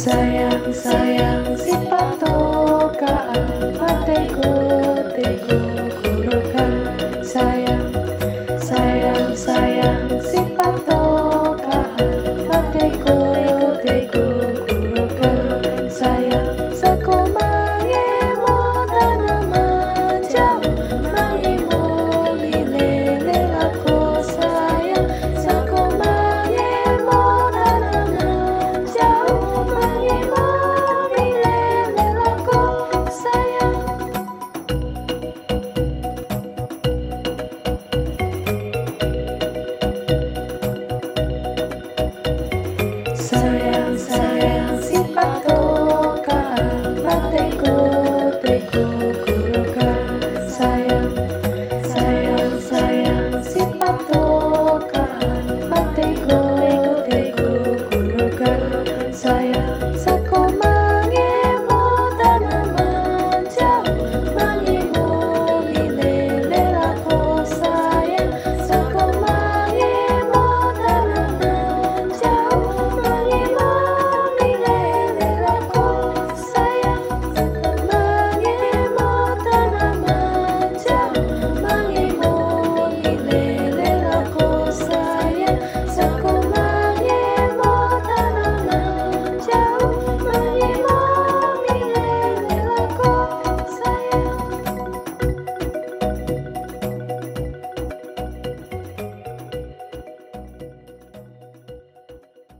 Sayang, sayang si patokaan patego tego kurukan. Sayang, sayang, sayang si patokaan patego tego kurukan. Sayang, sakumange mo tanaman jauh mangimo milele ako. Sayang, sakumange mo tanaman jauh mangimo milele ako. Sayang. Sayang, sayang si patokaan patego tego kurukan. Sayang, sayang, sayang si patokaan patego